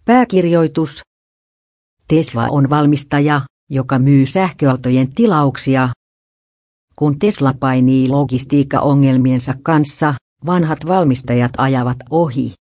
Pääkirjoitus. Tesla on valmistaja, joka myy sähköautojen tilauksia. Kun Tesla painii logistiikkaongelmiensa kanssa, vanhat valmistajat ajavat ohi.